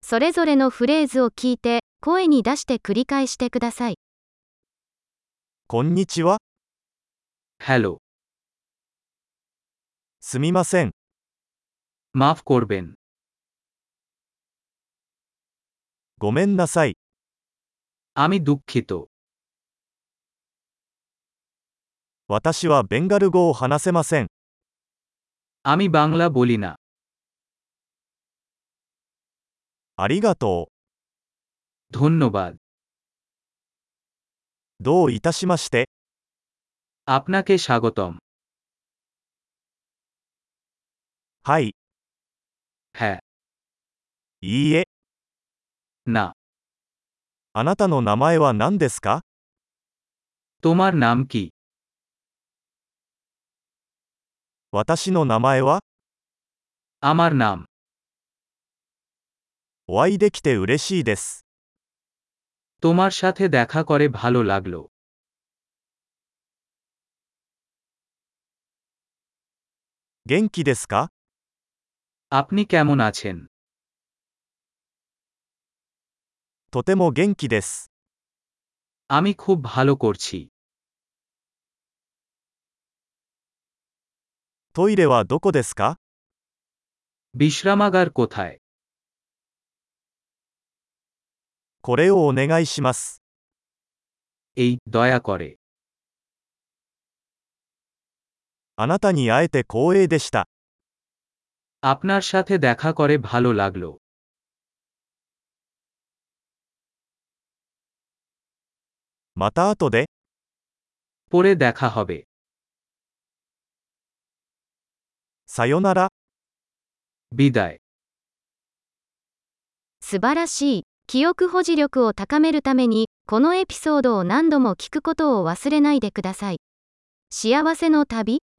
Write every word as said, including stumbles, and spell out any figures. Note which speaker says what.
Speaker 1: それぞれのフレーズを聞いて、声に出して繰り返してください。
Speaker 2: こんにちは。
Speaker 3: হ্যালো,
Speaker 2: すみません。
Speaker 3: মাফ করবেন,
Speaker 2: ごめんなさい。
Speaker 3: আমি দুঃখিত,
Speaker 2: 私はベンガル語を話せません。
Speaker 3: আমি বাংলা বলি না,
Speaker 2: ありがと
Speaker 3: ধন্যবাদ,
Speaker 2: う。どういたしまして。
Speaker 3: আপনাকে স্বাগতম,
Speaker 2: はい、
Speaker 3: হ্যাঁ,
Speaker 2: いいえ。
Speaker 3: না,
Speaker 2: あなたの名前は何ですか？
Speaker 3: তোমার নাম কি?
Speaker 2: 私の名前は？
Speaker 3: আমার নাম,
Speaker 2: お会いできて嬉しいです。
Speaker 3: তোমার সাথে দেখা করে ভালো লাগলো,
Speaker 2: 元気ですか？
Speaker 3: আপনি কেমন আছেন?
Speaker 2: とても元気です。
Speaker 3: আমি খুব ভালো করছি,
Speaker 2: トイレはどこですか？
Speaker 3: বিশ্রামাগার কোথায়?
Speaker 2: これをお願いします。
Speaker 3: এই, দয়া করে,
Speaker 2: あなたに会えて光栄でした。
Speaker 3: আপনার সাথে দেখা করে ভালো লাগলো,
Speaker 2: また後で。
Speaker 3: পরে দেখা হবে,
Speaker 2: さよなら。
Speaker 3: বিদায়,
Speaker 1: 素晴らしい。記憶保持力を高めるために、このエピソードを何度も聞くことを忘れないでください。幸せの旅